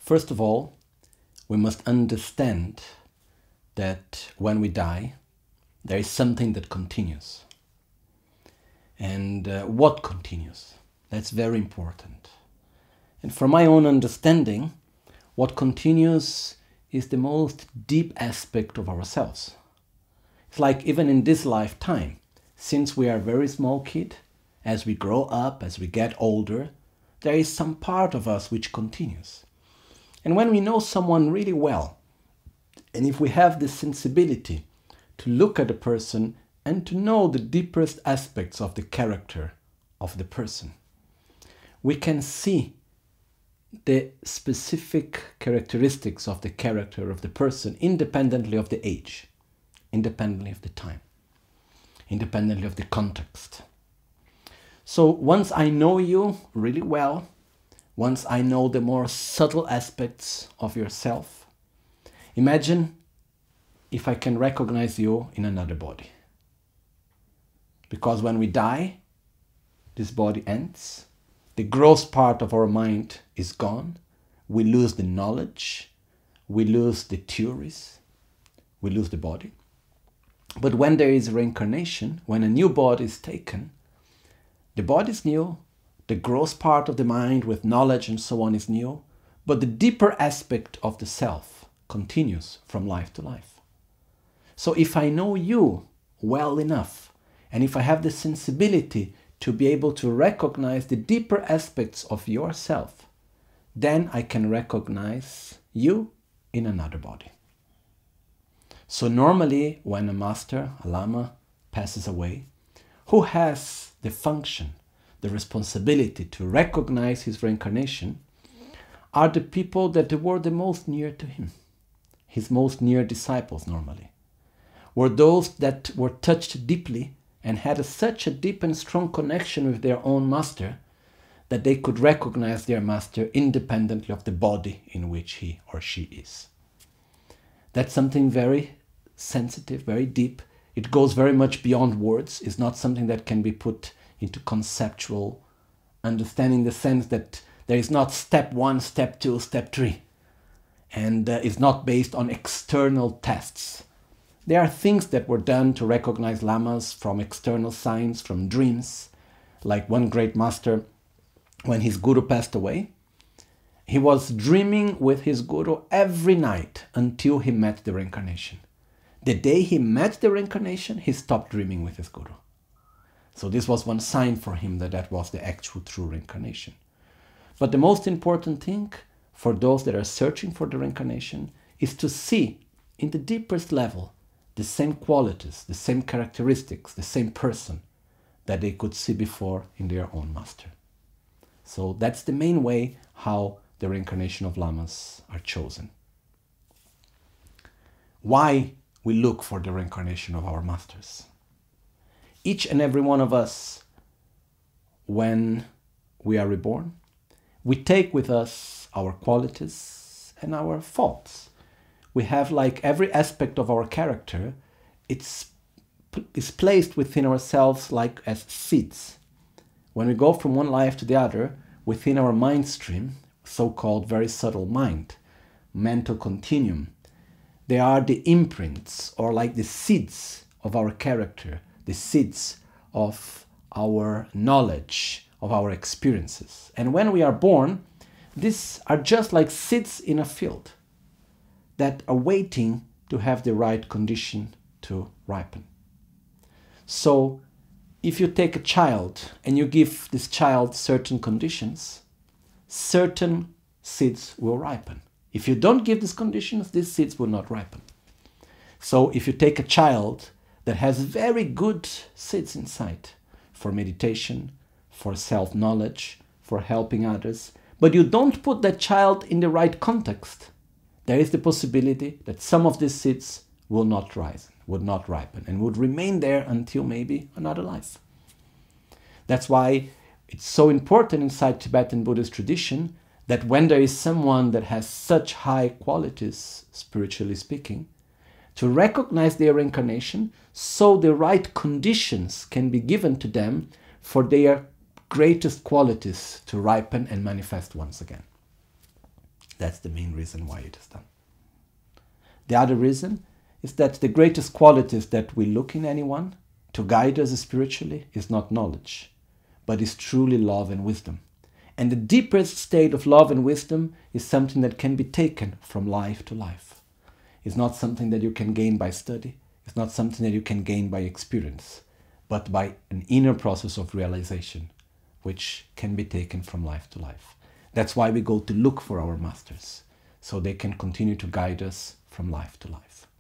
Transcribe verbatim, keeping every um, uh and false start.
First of all, we must understand that when we die, there is something that continues. And uh, what continues? That's very important. And from my own understanding, what continues is the most deep aspect of ourselves. It's like even in this lifetime, since we are a very small kid, as we grow up, as we get older, there is some part of us which continues. And when we know someone really well, and if we have the sensibility to look at a person and to know the deepest aspects of the character of the person, we can see the specific characteristics of the character of the person independently of the age, independently of the time, independently of the context. So once I know you really well, once I know the more subtle aspects of yourself, imagine if I can recognize you in another body. Because when we die, this body ends, the gross part of our mind is gone, we lose the knowledge, we lose the theories, we lose the body. But when there is reincarnation, when a new body is taken, the body is new, the gross part of the mind with knowledge and so on is new, but the deeper aspect of the self continues from life to life. So if I know you well enough, and if I have the sensibility to be able to recognize the deeper aspects of yourself, then I can recognize you in another body. So normally when a master, a lama, passes away, who has the function, the responsibility to recognize his reincarnation are the people that were the most near to him, his most near disciples normally, were those that were touched deeply and had a, such a deep and strong connection with their own master that they could recognize their master independently of the body in which he or she is. That's something very sensitive, very deep. It goes very much beyond words. It's not something that can be put into conceptual understanding, in the sense that there is not step one, step two, step three. And uh, it's not based on external tests. There are things that were done to recognize lamas from external signs, from dreams. Like one great master, when his guru passed away, he was dreaming with his guru every night until he met the reincarnation. The day he met the reincarnation, he stopped dreaming with his guru. So this was one sign for him that that was the actual true reincarnation. But the most important thing for those that are searching for the reincarnation is to see in the deepest level the same qualities, the same characteristics, the same person that they could see before in their own master. So that's the main way how the reincarnation of lamas are chosen. Why we look for the reincarnation of our masters? Each and every one of us, when we are reborn, we take with us our qualities and our faults. We have, like every aspect of our character, it's, it's placed within ourselves like as seeds. When we go from one life to the other, within our mind stream, so-called very subtle mind, mental continuum, they are the imprints, or like the seeds of our character, the seeds of our knowledge, of our experiences. And when we are born, these are just like seeds in a field that are waiting to have the right condition to ripen. So if you take a child and you give this child certain conditions, certain seeds will ripen. If you don't give these conditions, these seeds will not ripen. So if you take a child that has very good seeds inside for meditation, for self-knowledge, for helping others, but you don't put that child in the right context, there is the possibility that some of these seeds will not rise, would not ripen, and would remain there until maybe another life. That's why it's so important inside Tibetan Buddhist tradition that when there is someone that has such high qualities, spiritually speaking, to recognize their reincarnation so the right conditions can be given to them for their greatest qualities to ripen and manifest once again. That's the main reason why it is done. The other reason is that the greatest qualities that we look in anyone to guide us spiritually is not knowledge, but is truly love and wisdom. And the deepest state of love and wisdom is something that can be taken from life to life. It's not something that you can gain by study. It's not something that you can gain by experience, but by an inner process of realization, which can be taken from life to life. That's why we go to look for our masters, so they can continue to guide us from life to life.